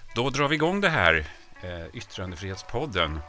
Då drar vi igång det här, Yttrandefrihetspodden.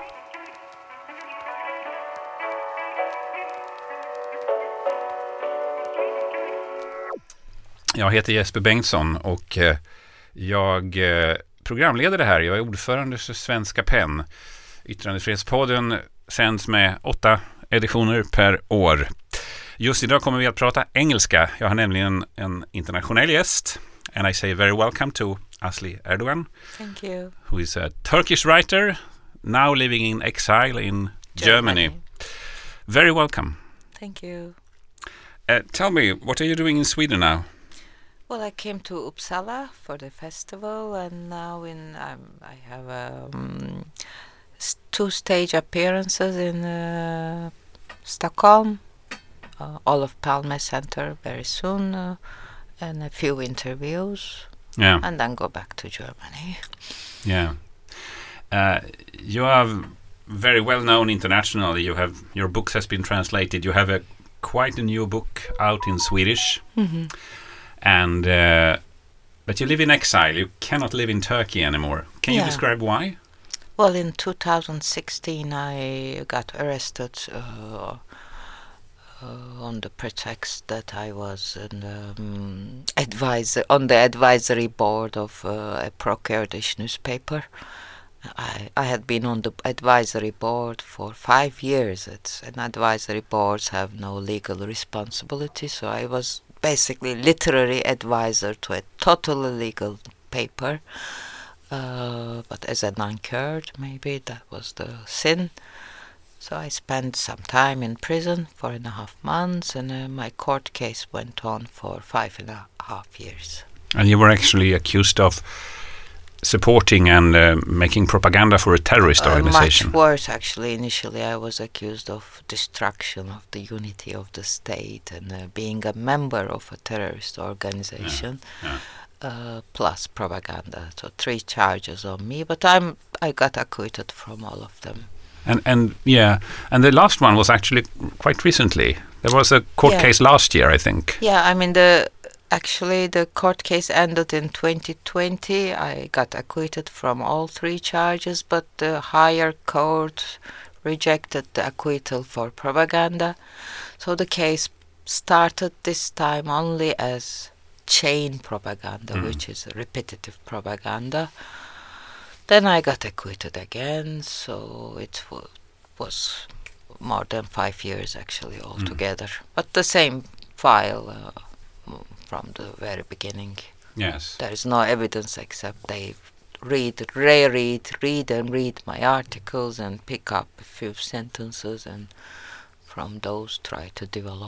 Jag heter Jesper Bengtsson och jag programleder det här. Jag är ordförande för Svenska PEN. Yttrandefrihetspodden sänds med 8 editioner per år. Just idag kommer vi att prata engelska. Jag har nämligen en internationell gäst. And I say very welcome to Asli Erdogan. Thank you. Who is a Turkish writer, now living in exile in Germany. Very welcome. Thank you. Tell me, what are you doing in Sweden now? Well, I came to Uppsala for the festival, and now I have 2 stage appearances in Stockholm, Olof Palme Center very soon, and a few interviews. Yeah. And then go back to Germany. Yeah. You are very well known internationally. Your books has been translated. You have quite a new book out in Swedish. Mm-hmm. And but you live in exile. You cannot live in Turkey anymore. Can you describe why? Well, in 2016 I got arrested on the pretext that I was on the advisory board of a pro-Kurdish newspaper. I had been on the advisory board for 5 years. Advisory boards have no legal responsibility, so I was basically literary advisor to a totally legal paper. But as a non-Kurd, maybe that was the sin. So I spent some time in prison, 4.5 months, and my court case went on for 5.5 years. And you were actually accused of supporting and making propaganda for a terrorist organization. Much worse, actually. Initially, I was accused of destruction of the unity of the state and being a member of a terrorist organization, plus propaganda. So 3 charges on me, but I got acquitted from all of them. And the last one was actually quite recently. There was a court case last year, I think. Yeah, I mean the court case ended in 2020. I got acquitted from all 3 charges, but the higher court rejected the acquittal for propaganda. So the case started this time only as chain propaganda, which is repetitive propaganda. Then I got acquitted again, so it was more than 5 years actually altogether. But the same file from the very beginning. Yes. There is no evidence except they read my articles and pick up a few sentences and from those try to develop.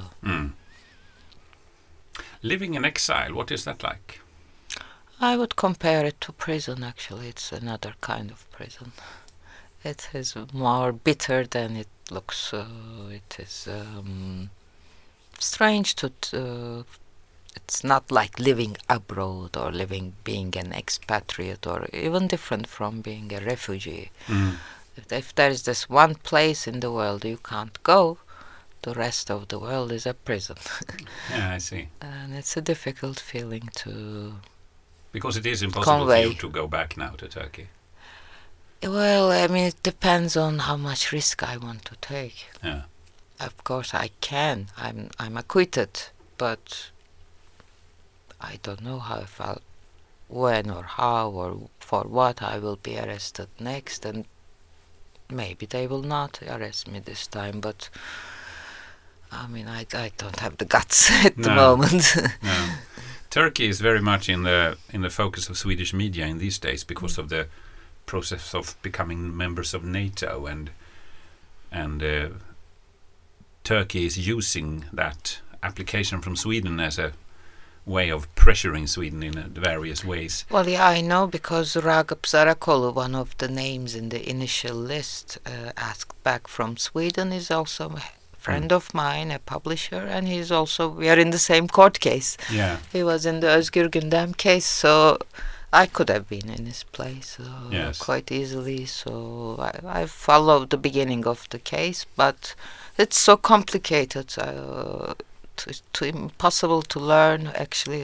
Living in exile, what is that like? I would compare it to prison, actually. It's another kind of prison. It is more bitter than it looks. It is strange to... it's not like living abroad or being an expatriate or even different from being a refugee. If there is this one place in the world you can't go, the rest of the world is a prison. Yeah, I see. And it's a difficult feeling to... Because it is impossible for you to go back now to Turkey. Well, I mean, it depends on how much risk I want to take. Yeah. Of course, I can. I'm acquitted, but I don't know when or how or for what I will be arrested next, and maybe they will not arrest me this time. But I mean, I don't have the guts at the moment. No. Turkey is very much in the focus of Swedish media in these days because of the process of becoming members of NATO, and Turkey is using that application from Sweden as a way of pressuring Sweden in various ways. Well, yeah, I know, because Ragıp Zarakolu, one of the names in the initial list asked back from Sweden, is also friend of mine, a publisher, and he's also, we are in the same court case. Yeah. He was in the Özgür Gündem case, so I could have been in his place quite easily. So I followed the beginning of the case, but it's so complicated, impossible to learn actually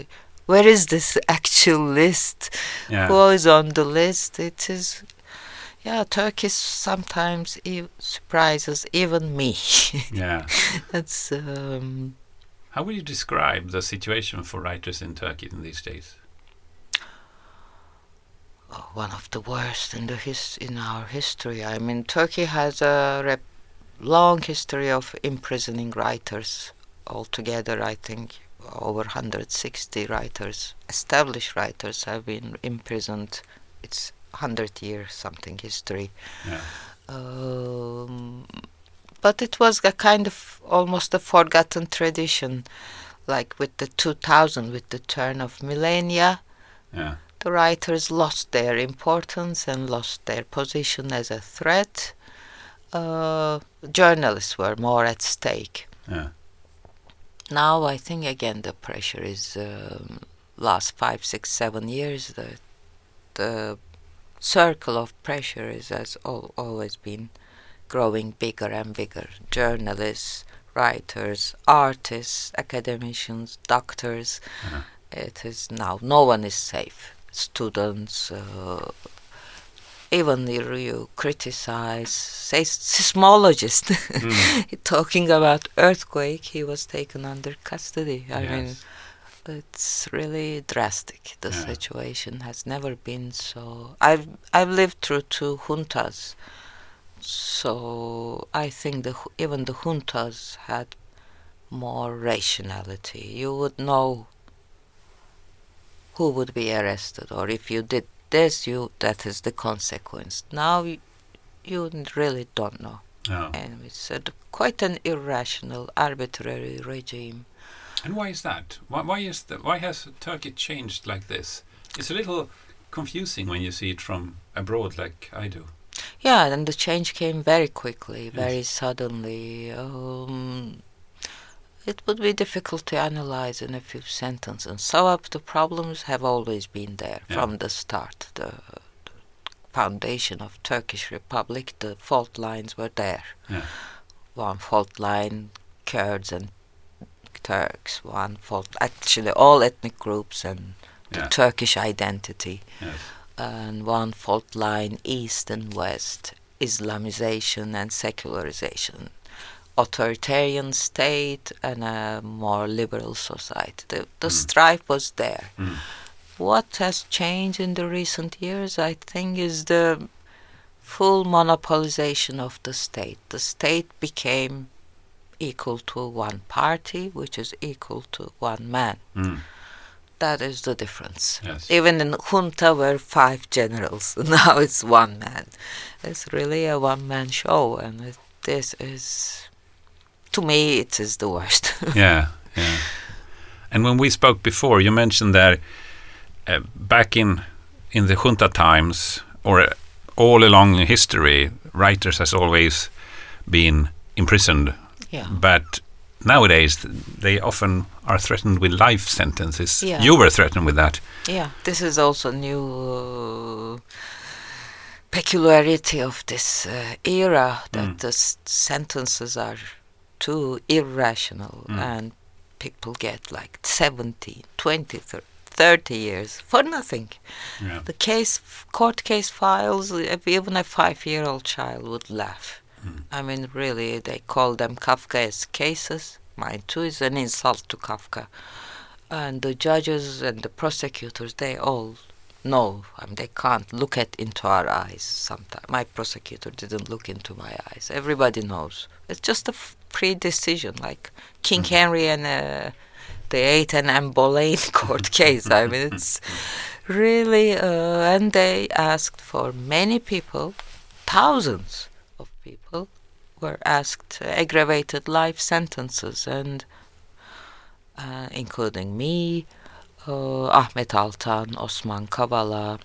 where is this actual list? Yeah. Who is on the list? It is, yeah, Turkey sometimes surprises even me. Yeah. That's How would you describe the situation for writers in Turkey in these days? one of the worst in in our history. I mean, Turkey has a long history of imprisoning writers. Altogether, I think over 160 writers, established writers, have been imprisoned. It's 100-year something history. Yeah. But it was a kind of almost a forgotten tradition, like with the 2000, with the turn of millennia. Yeah. The writers lost their importance and lost their position as a threat. Journalists were more at stake. Yeah. Now I think again the pressure is last 5, 6, 7 years. The circle of pressure has always been growing bigger and bigger. Journalists, writers, artists, academicians, doctors. Uh-huh. It is now no one is safe. Students, even you criticize, say seismologist, talking about earthquake, he was taken under custody. I mean, it's really drastic. The situation has never been so. I've lived through 2 juntas, so I think even the juntas had more rationality. You would know who would be arrested, or if you did this, that is the consequence. Now you really don't know. Oh. And it's quite an irrational, arbitrary regime. And why is that? Why has Turkey changed like this? It's a little confusing when you see it from abroad, like I do. Yeah, and the change came very quickly, very suddenly. It would be difficult to analyze in a few sentences. Some of the problems have always been there from the start. The foundation of Turkish Republic, the fault lines were there. Yeah. One fault line, Kurds and Turks. One fault, actually all ethnic groups and the Turkish identity. Yes. And one fault line, East and West, Islamization and secularization. Authoritarian state and a more liberal society. The strife was there. What has changed in the recent years, I think, is the full monopolization of the state. The state became equal to one party, which is equal to one man. That is the difference. Yes. Even in junta were 5 generals. Now it's one man. It's really a one-man show, and this is, to me, it is the worst. Yeah. And when we spoke before, you mentioned that back in the junta times, or all along history, writers has always been imprisoned. Yeah. But nowadays, they often are threatened with life sentences. Yeah. You were threatened with that. Yeah, this is also new peculiarity of this era, that the sentences are too irrational and people get like 17, 20, 30 years for nothing. Yeah. The court case files, even a 5-year-old child would laugh. I mean, really, they call them Kafkaesque cases. Mine too is an insult to Kafka. And the judges and the prosecutors, they all know. I mean, they can't look into our eyes sometimes. My prosecutor didn't look into my eyes. Everybody knows. It's just a pre-decision, like King Henry and the 8 and Anne Boleyn court case. I mean, it's really... and they asked for many people, thousands of people were asked aggravated life sentences, and including me, Ahmet Altan, Osman Kavala.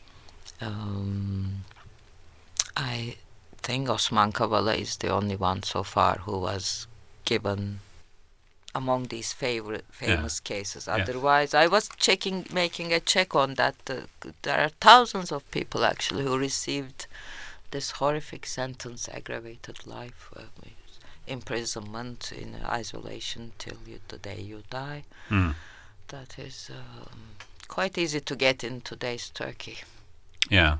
I think Osman Kavala is the only one so far who was given among these famous cases. Otherwise, I was making a check on that. There are thousands of people actually who received this horrific sentence, aggravated life, imprisonment in isolation till the day you die. that is quite easy to get in today's Turkey. Yeah.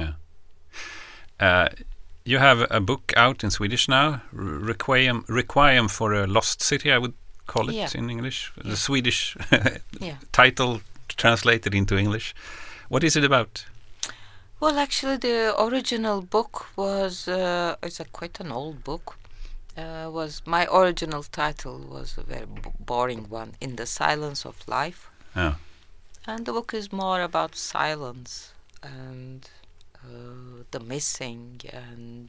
You have a book out in Swedish now, Requiem for a Lost City, I would call it in English. Yeah. The Swedish title translated into English. What is it about? Well, actually, the original book was it's quite an old book. Was my original title was a very boring one, In the Silence of Life. Oh. And the book is more about silence and the missing and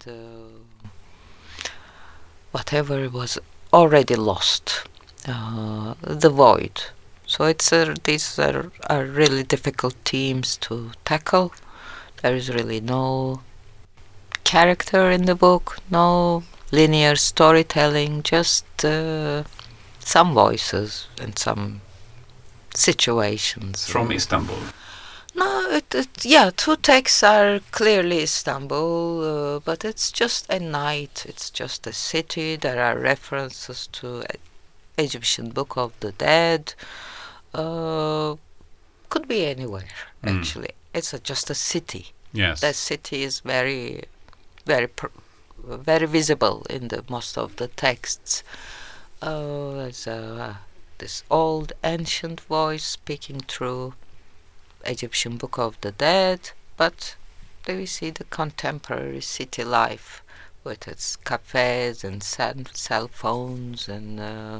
whatever was already lost, the void. So these are really difficult themes to tackle. There is really no character in the book, no linear storytelling, just some voices and some situations. From Istanbul? No, two texts are clearly Istanbul, but it's just a night, it's just a city. There are references to Egyptian Book of the Dead. Could be anywhere, actually. It's just a city. Yes. That city is very, very, very visible in most of the texts. There's this old ancient voice speaking through Egyptian Book of the Dead, but there we see the contemporary city life with its cafes and cell phones and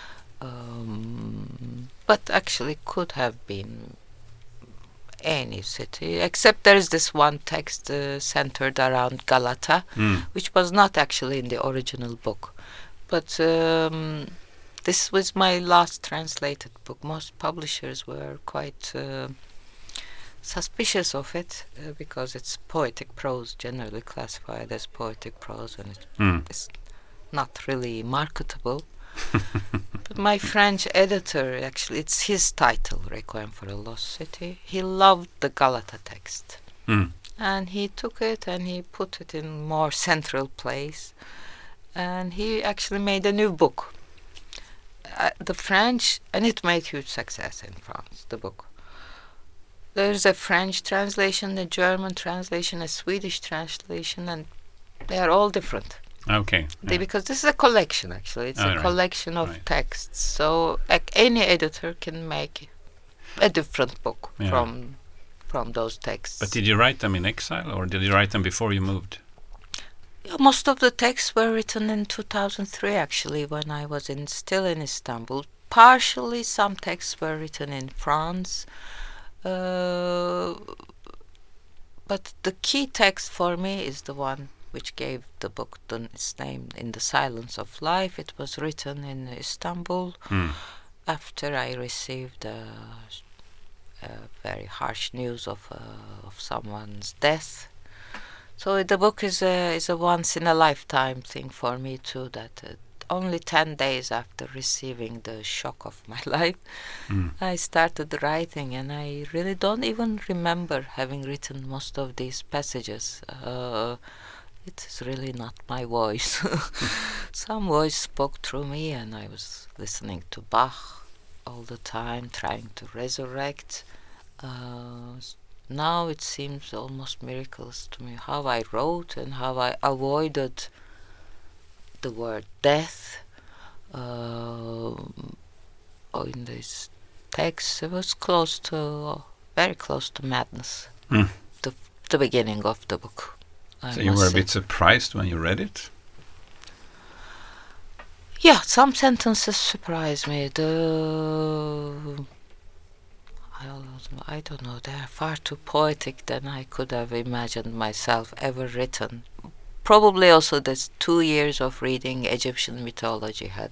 but actually could have been any city, except there is this one text centered around Galata, which was not actually in the original book. But this was my last translated book. Most publishers were quite suspicious of it because it's poetic prose, generally classified as poetic prose, and it's not really marketable. But my French editor, actually, it's his title, Requiem for a Lost City. He loved the Galata text. And he took it and he put it in more central place. And he actually made a new book. The French, and it made huge success in France, the book. There's a French translation, a German translation, a Swedish translation, and they are all different. Okay. Because this is a collection, actually. It's a collection of texts. So any editor can make a different book from those texts. But did you write them in exile, or did you write them before you moved? Most of the texts were written in 2003, actually, when I was still in Istanbul. Partially, some texts were written in France. But the key text for me is the one which gave the book its name, In the Silence of Life. It was written in Istanbul after I received very harsh news of someone's death. So the book is a once-in-a-lifetime thing for me too, that only 10 days after receiving the shock of my life, I started writing, and I really don't even remember having written most of these passages. It is really not my voice. Some voice spoke through me, and I was listening to Bach all the time, trying to resurrect. Now it seems almost miracles to me how I wrote and how I avoided the word death. In this text, it was very close to madness. The beginning of the book. So you were a bit surprised when you read it? Yeah, some sentences surprised me. I don't know, they are far too poetic than I could have imagined myself ever written. Probably also this 2 years of reading Egyptian mythology had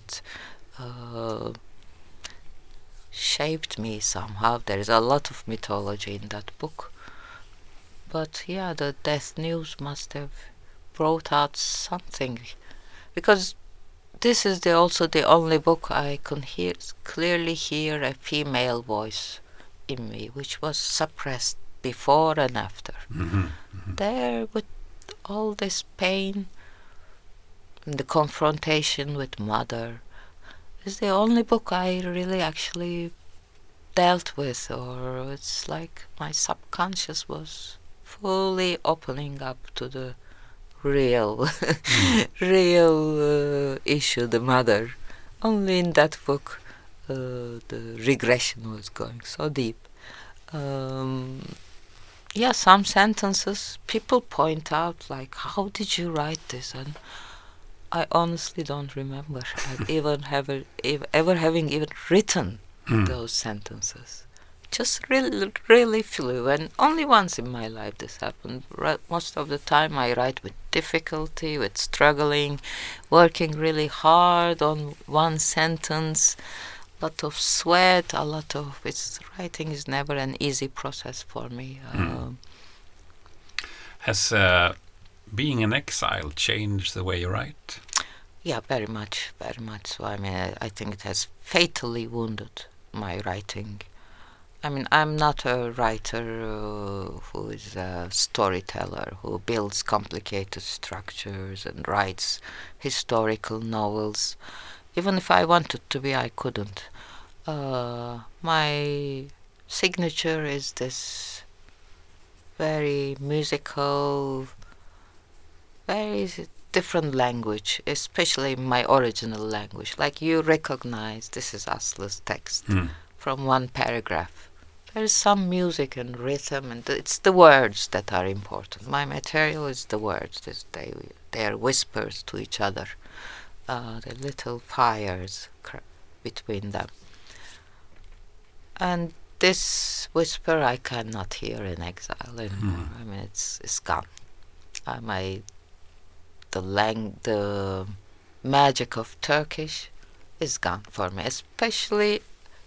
shaped me somehow. There is a lot of mythology in that book. But yeah, the death news must have brought out something. Because this is also the only book I can clearly hear a female voice in me, which was suppressed before and after. There, with all this pain and the confrontation with mother, is the only book I really actually dealt with, or it's like my subconscious was fully opening up to the real real issue, the mother. Only in that book the regression was going so deep. Yeah, some sentences people point out, like, how did you write this? And I honestly don't remember ever having even written those sentences. Just really flew, and only once in my life this happened. Most of the time I write with difficulty, with struggling, working really hard on one sentence, lot of sweat, writing is never an easy process for me. Has being in exile changed the way you write? Yeah, very much. So I mean, I think it has fatally wounded my writing. I mean, I'm not a writer who is a storyteller, who builds complicated structures and writes historical novels. Even if I wanted to be, I couldn't. My signature is this very musical, very different language, especially my original language. Like, you recognize this is Aslı's text from one paragraph. There is some music and rhythm, and it's the words that are important. My material is the words. They are whispers to each other. The little fires between them. And this whisper I cannot hear in exile anymore. I mean, it's gone. The magic of Turkish is gone for me, especially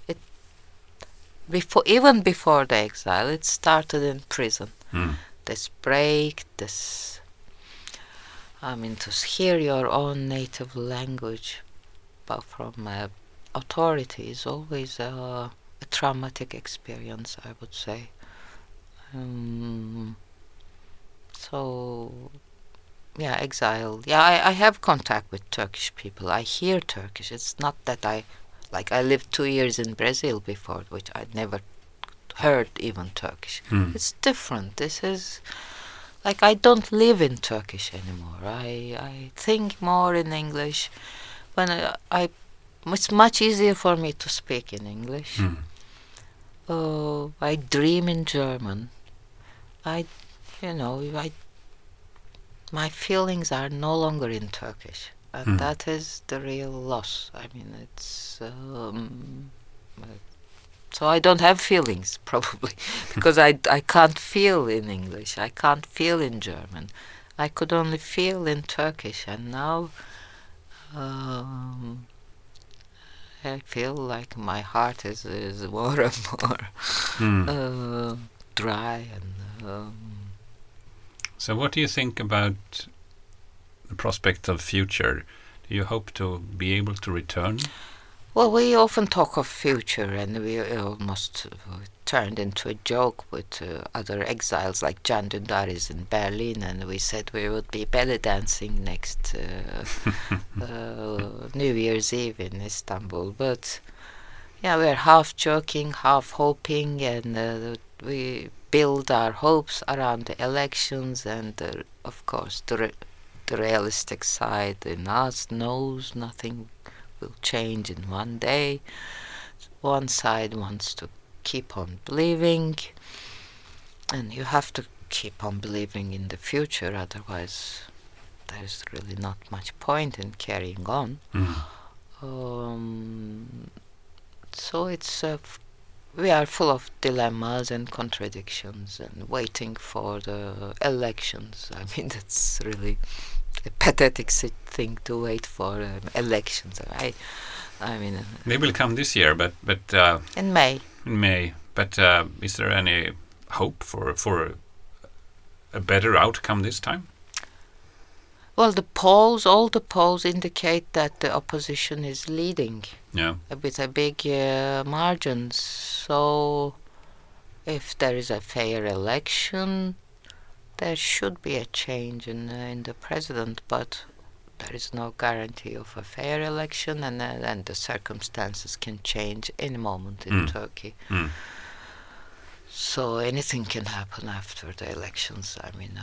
even before the exile. It started in prison. This break, to hear your own native language, but from authority, is always a traumatic experience, I would say. So, yeah, exile. Yeah, I have contact with Turkish people. I hear Turkish. It's not that I lived 2 years in Brazil before, which I'd never heard even Turkish. It's different. This is like, I don't live in Turkish anymore. I think more in English. When it's much easier for me to speak in English. I dream in German. My feelings are no longer in Turkish, and that is the real loss. I mean, it's so I don't have feelings, probably, because I can't feel in English. I can't feel in German. I could only feel in Turkish, and now I feel like my heart is more and more dry. And so what do you think about the prospect of future? Do you hope to be able to return? Well, we often talk of future, and we almost turned into a joke with other exiles like Can Dündar is in Berlin, and we said we would be belly dancing next New Year's Eve in Istanbul. But yeah, we're half joking, half hoping, and we build our hopes around the elections, and of course the realistic side in us knows nothing will change in one day. One side wants to keep on believing, and you have to keep on believing in the future, otherwise there's really not much point in carrying on. So it's we are full of dilemmas and contradictions, and waiting for the elections. I mean, that's really a pathetic thing to wait for elections. I mean, they will come this year, but in May. In May. But is there any hope for a better outcome this time? Well, all the polls indicate that the opposition is leading. Yeah. With a big margin. So, if there is a fair election, there should be a change in the president. But there is no guarantee of a fair election, and the circumstances can change any moment in Turkey. So anything can happen after the elections. I mean,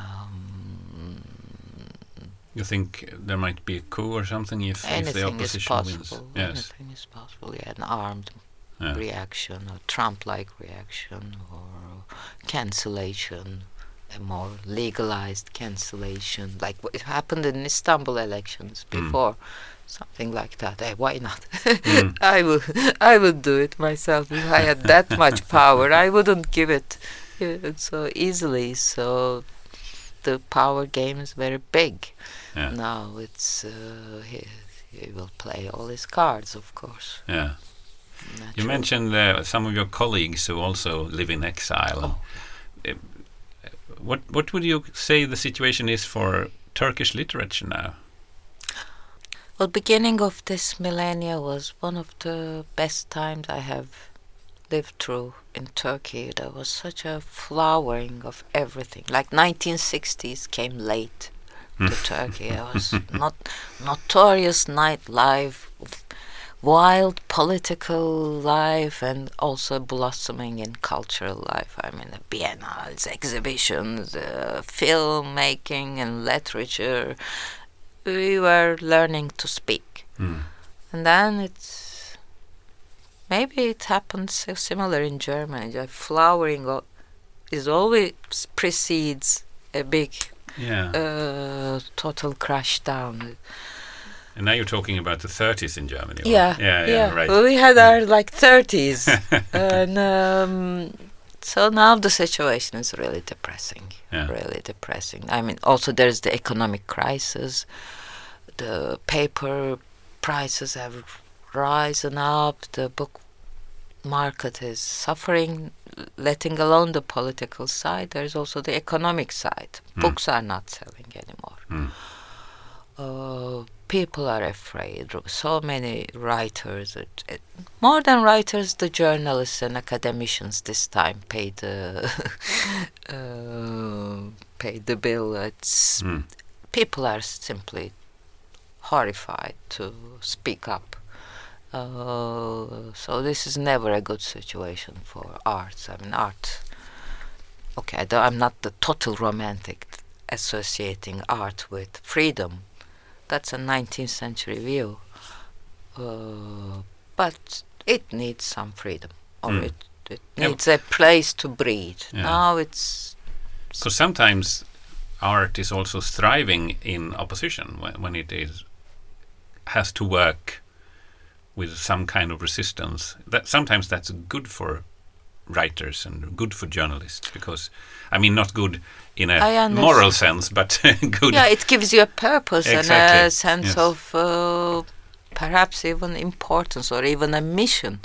you think there might be a coup or something if the opposition wins? Yes. Anything is possible. Yeah, an armed reaction, a Trump-like reaction, or cancellation, a more legalized cancellation, like what happened in Istanbul elections before. Something like that. Hey, why not? I would do it myself if I had that much power. I wouldn't give it so easily. So the power game is very big. Yeah. Now it's he will play all his cards, of course. Yeah. Naturally. You mentioned some of your colleagues who also live in exile. What would you say the situation is for Turkish literature now? Well, beginning of this millennia was one of the best times I have lived through in Turkey. There was such a flowering of everything. Like 1960s came late to Turkey. It was notorious nightlife, wild political life, and also blossoming in cultural life. I mean, the biennales, exhibitions, filmmaking and literature. We were learning to speak. And then maybe it happens so similar in Germany. The flowering is always precedes a big total crash down. And now you're talking about the 30s in Germany. Yeah, right. Well, we had our 30s. And so now the situation is really depressing. Really depressing. I mean, also there's the economic crisis. The paper prices have risen up. The book market is suffering, letting alone the political side. There's also the economic side. Books are not selling anymore. People are afraid. So many writers, more than writers, the journalists and academicians this time paid the bill. People are simply horrified to speak up. So this is never a good situation for arts. I mean, art. Okay, I'm not the total romantic associating art with freedom. That's a 19th century view. But it needs some freedom. Or it needs a place to breathe. Now it's... Because sometimes art is also thriving in opposition when it has to work with some kind of resistance. Sometimes that's good for writers and good for journalists, because not good in a moral sense, but good. Yeah, it gives you a purpose and a sense of perhaps even importance or even a mission.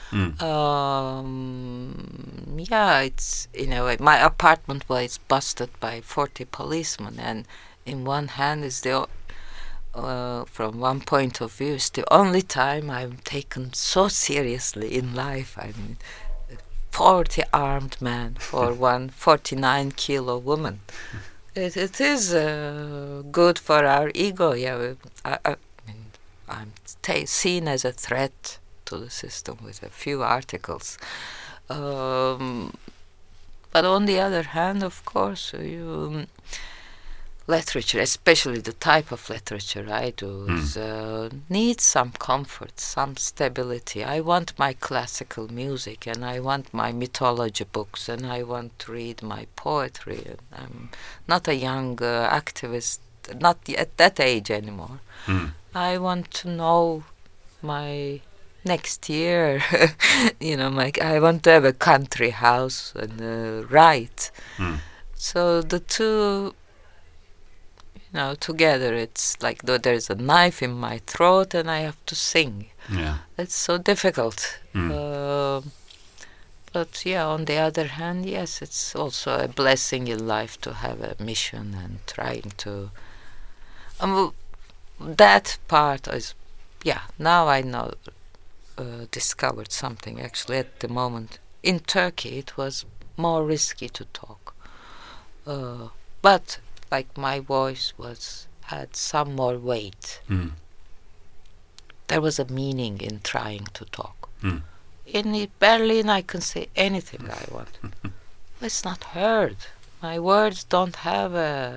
It's in a way, my apartment was busted by 40 policemen, and in one hand is from one point of view, it's the only time I'm taken so seriously in life. I mean, 40 armed men for one 49-kilo woman. It is good for our ego. Yeah, I'm seen as a threat to the system with a few articles. But on the other hand, of course, literature, especially the type of literature I do, needs some comfort, some stability. I want my classical music, and I want my mythology books, and I want to read my poetry. I'm not a young activist, not at that age anymore. I want to know my next year. I want to have a country house and write. So the two, together, it's like though there's a knife in my throat and I have to sing. Yeah. It's so difficult. But on the other hand, yes, it's also a blessing in life to have a mission and trying to... that part is, now I know, discovered something actually at the moment. In Turkey, it was more risky to talk. But like my voice had some more weight. Mm. There was a meaning in trying to talk. Mm. In Berlin, I can say anything I want. It's not heard. My words don't have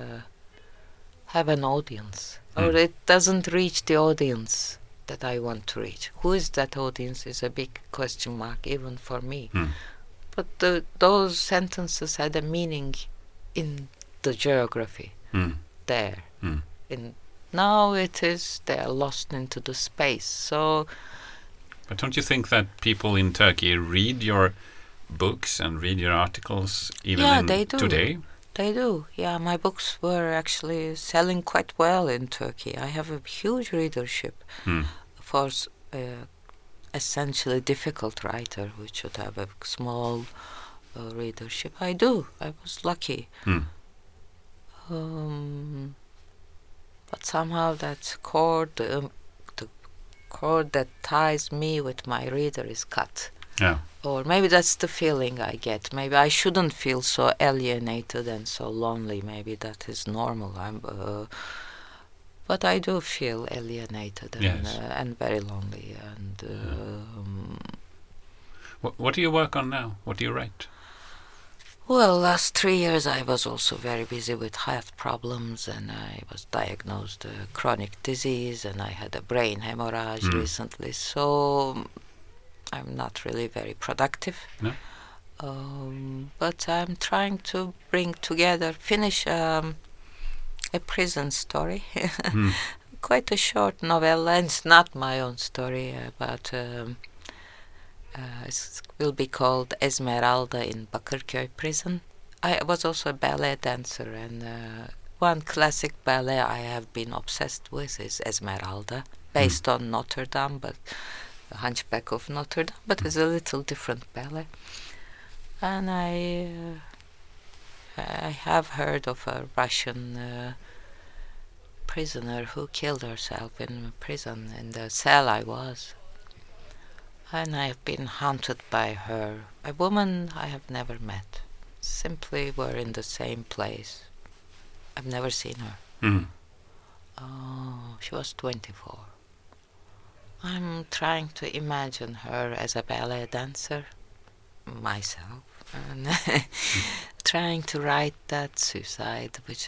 an audience, or it doesn't reach the audience that I want to reach. Who is that audience is a big question mark even for me. Mm. But those sentences had a meaning in the geography there. Mm. Now they are lost into the space. So, but don't you think that people in Turkey read your books and read your articles even they do. today? They do. Yeah, my books were actually selling quite well in Turkey. I have a huge readership for essentially difficult writer, which should have a small readership. I do. I was lucky. But somehow that cord, the cord that ties me with my reader is cut. Yeah. Or maybe that's the feeling I get. Maybe I shouldn't feel so alienated and so lonely. Maybe that is normal. But I do feel alienated and very lonely. And what do you work on now? What do you write? Well, last 3 years I was also very busy with health problems, and I was diagnosed chronic disease, and I had a brain hemorrhage recently. So I'm not really very productive. No? But I'm trying to finish a prison story. Quite a short novella, and it's not my own story, but it will be called Esmeralda in Bakırköy prison. I was also a ballet dancer, and one classic ballet I have been obsessed with is Esmeralda, based on Notre Dame, but the Hunchback of Notre Dame, but it's a little different ballet. And I have heard of a Russian prisoner who killed herself in prison, in the cell I was. And I have been haunted by her, a woman I have never met. Simply were in the same place. I've never seen her. Oh, she was 24. I'm trying to imagine her as a ballet dancer, myself, and trying to write that suicide which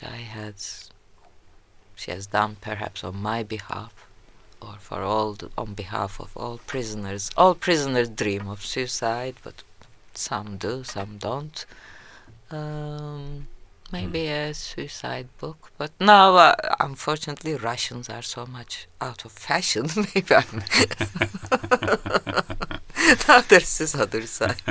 she has done perhaps on my behalf, or on behalf of all prisoners. All prisoners dream of suicide, but some do, some don't. Maybe a suicide book, but now, unfortunately, Russians are so much out of fashion. Maybe I'm now there's this other side.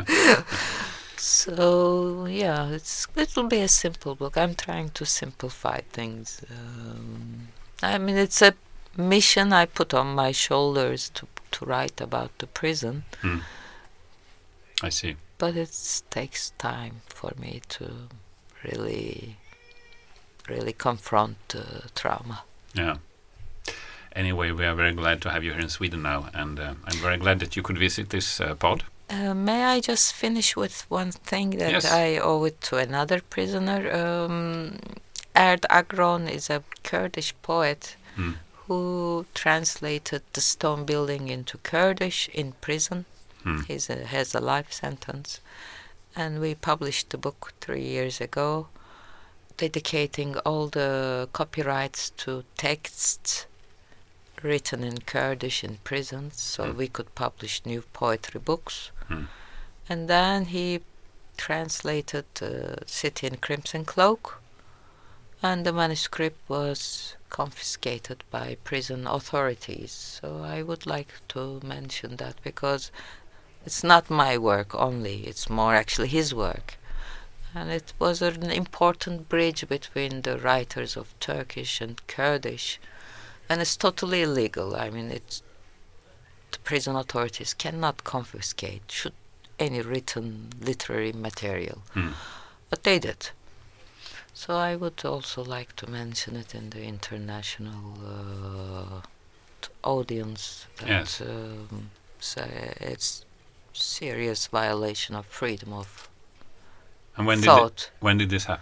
So yeah, it will be a simple book. I'm trying to simplify things. I mean, it's a mission I put on my shoulders to write about the prison. I see. But it takes time for me to really confront trauma. Yeah. Anyway, we are very glad to have you here in Sweden now, and I'm very glad that you could visit this pod. May I just finish with one thing that Yes. I owe it to another prisoner? Erd Agron is a Kurdish poet who translated The Stone Building into Kurdish in prison. He has a life sentence. And we published the book 3 years ago, dedicating all the copyrights to texts written in Kurdish in prisons, so we could publish new poetry books. And then he translated City in Crimson Cloak, and the manuscript was confiscated by prison authorities. So I would like to mention that, because it's not my work only, it's more actually his work. And it was an important bridge between the writers of Turkish and Kurdish. And it's totally illegal. I mean, the prison authorities cannot confiscate any written literary material. But they did. So I would also like to mention it in the international audience. That, Yes. so it's serious violation of freedom of And when thought. when did this happen?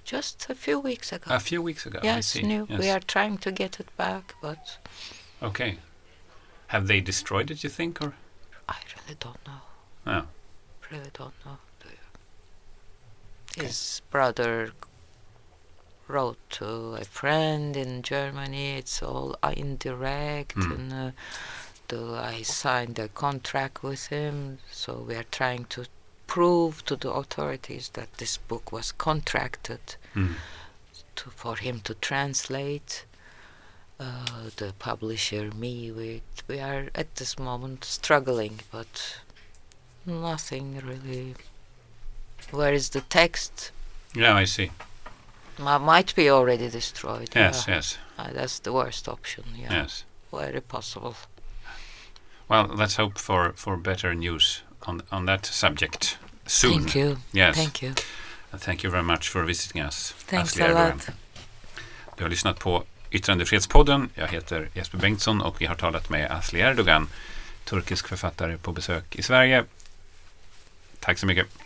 Just a few weeks ago. A few weeks ago, I Yes, see. new. Yes. We are trying to get it back, but Okay. Have they destroyed it, you think, or? I really don't know. No. Really don't know. His brother wrote to a friend in Germany. It's all indirect, and I signed a contract with him. So we are trying to prove to the authorities that this book was contracted for him to translate. The publisher, me, we are at this moment struggling, but nothing really. Where is the text? Yeah, I see. Might be already destroyed. Yes, yeah. yes. That's the worst option. Yeah. Yes. Very possible. Well, let's hope for better news on that subject soon. Thank you. Yes. Thank you. And thank you very much for visiting us. Thanks Asli a Erdogan. lot. Du har lyssnat på Yttrandefrihetspodden. Jag heter Jesper Bengtsson och vi har talat med Asli Erdogan, turkisk författare på besök i Sverige. Tack så mycket.